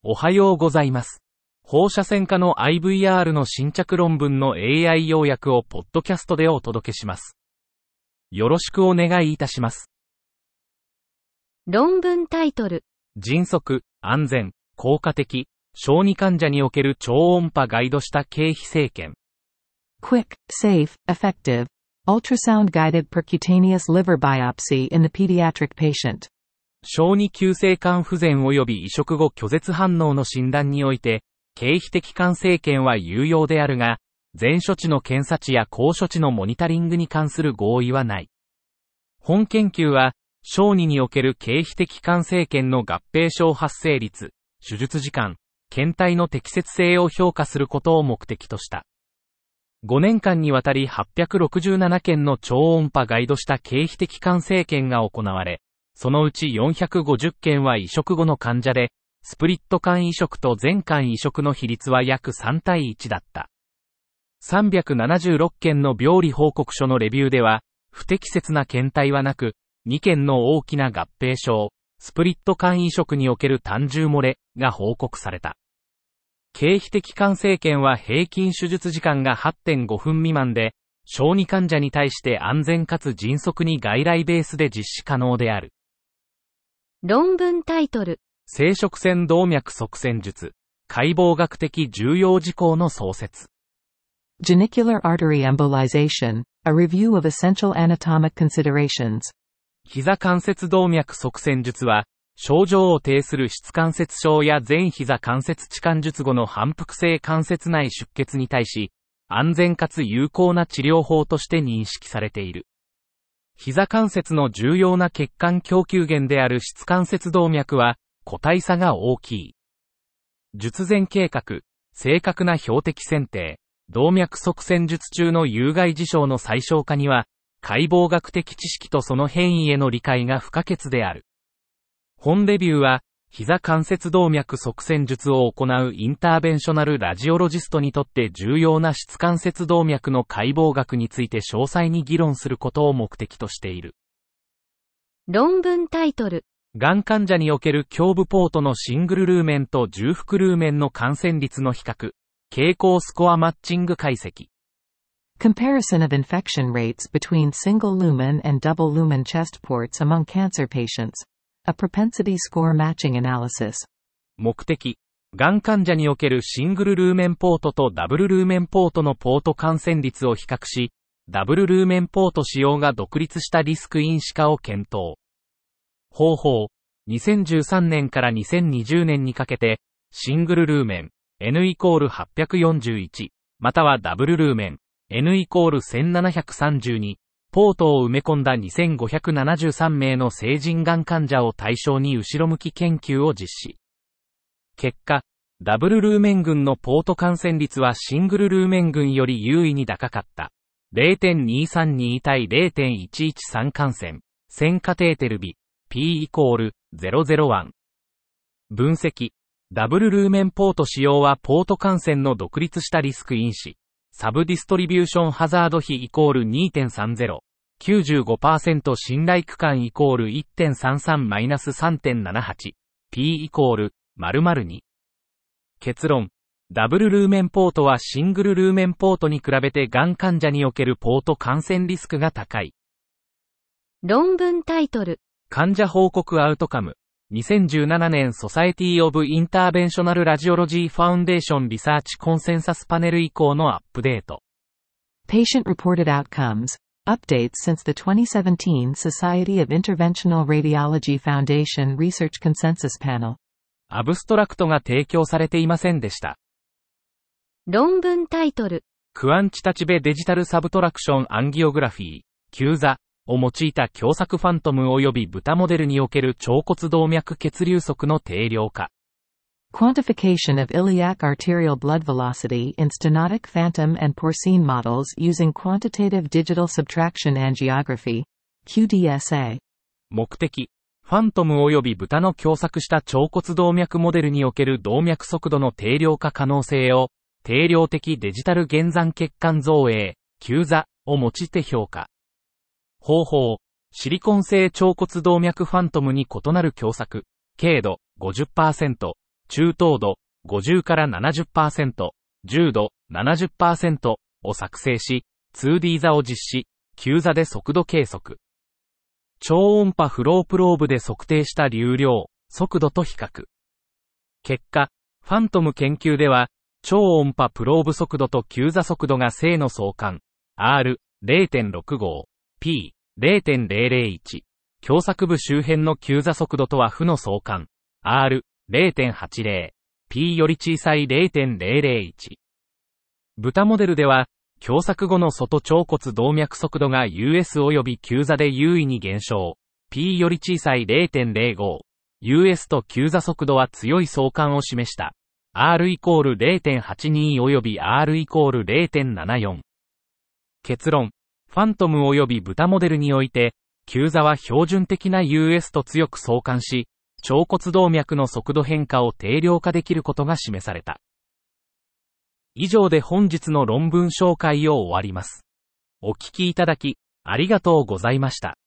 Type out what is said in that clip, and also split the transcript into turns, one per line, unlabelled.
おはようございます。放射線科の IVR の新着論文の AI 要約をポッドキャストでお届けします。よろしくお願いいたします。
論文タイトル。
迅速、安全、効果的、小児患者における超音波ガイドした経皮生検。
Quick, safe, effective, ultrasound-guided percutaneous liver biopsy in the pediatric patient.
小児急性肝不全及び移植後拒絶反応の診断において、経皮的肝生検は有用であるが、前処置の検査値や後処置のモニタリングに関する合意はない。本研究は、小児における経皮的肝生検の合併症発生率、手術時間、検体の適切性を評価することを目的とした。5年間にわたり867件の超音波ガイドした経皮的肝生検が行われ、そのうち450件は移植後の患者で、スプリット肝移植と全肝移植の比率は約3対1だった。376件の病理報告書のレビューでは、不適切な検体はなく、2件の大きな合併症、スプリット肝移植における単重漏れが報告された。経皮的肝生検は平均手術時間が 8.5 分未満で、小児患者に対して安全かつ迅速に外来ベースで実施可能である。
論文タイトル。
生殖腺動脈塞栓術、解剖学的重要事項の創設。
Genicular artery embolization, a review of essential anatomic considerations.
膝関節動脈塞栓術は、症状を呈する膝関節症や前膝関節置換術後の反復性関節内出血に対し、安全かつ有効な治療法として認識されている。膝関節の重要な血管供給源である膝関節動脈は、個体差が大きい。術前計画、正確な標的選定、動脈塞栓術中の有害事象の最小化には、解剖学的知識とその変異への理解が不可欠である。本レビューは、膝関節動脈塞栓術を行うインターベンショナルラジオロジストにとって重要な膝関節動脈の解剖学について詳細に議論することを目的としている。
論文タイトル。
がん患者における胸部ポートのシングルルーメンと重複ルーメンの感染率の比較、傾向スコアマッチング解析。
Comparison of infection rates between single lumen and double lumen chest ports among cancer patients. A propensity score matching analysis.
目的、がん患者におけるシングルルーメンポートとダブルルーメンポートのポート感染率を比較し、ダブルルーメンポート使用が独立したリスク因子化を検討。方法、2013年から2020年にかけて、シングルルーメン、N=841、またはダブルルーメン、N=1732、ポートを埋め込んだ2573名の成人がん患者を対象に後ろ向き研究を実施。結果、ダブルルーメン群のポート感染率はシングルルーメン群より優位に高かった。0.232 対 0.113 感染、1000カテーテル比、P=001。分析。ダブルルーメンポート使用はポート感染の独立したリスク因子。サブディストリビューションハザード比=2.30。95% 信頼区間=1.33-3.78。P=○○2。結論。ダブルルーメンポートはシングルルーメンポートに比べてがん患者におけるポート感染リスクが高い。
論文タイトル。
患者報告アウトカム。2017年ソサエティオブインターベンショナルラジオロジーファウンデーションリサーチコンセンサスパネル以降のアップデート。
Patient reported outcomes. Updates since the 2017 Society of Interventional Radiology Foundation Research Consensus Panel。
アブストラクトが提供されていませんでした。
論文タイトル。
クアンチタチベデジタルサブトラクションアンギオグラフィー、キ座を用いた狭窄ファントム及び豚モデルにおける腸骨動脈血流速の定量化。
Quantification of iliac arterial blood velocity in stenotic phantom and porcine models using quantitative digital subtraction angiography, QDSA。
目的、ファントム及び豚の狭窄した腸骨動脈モデルにおける動脈速度の定量化可能性を、定量的デジタル減残血管造影、Q座を用いて評価。方法、シリコン製腸骨動脈ファントムに異なる狭窄、軽度 50%、 中等度、50から 70%、重度、70% を作成し、2D 座を実施、急座で速度計測。超音波フロープローブで測定した流量、速度と比較。結果、ファントム研究では、超音波プローブ速度と急座速度が正の相関、R0.65、P0.001、狭窄部周辺の急座速度とは負の相関、R0.80、P より小さい 0.001。豚モデルでは、狭窄後の外腸骨動脈速度が US 及び急座で優位に減少、P より小さい 0.05、US と急座速度は強い相関を示した。R イコール 0.82 及び R イコール 0.74。結論、ファントム及び豚モデルにおいて、急座は標準的な US と強く相関し、腸骨動脈の速度変化を定量化できることが示された。以上で本日の論文紹介を終わります。お聞きいただき、ありがとうございました。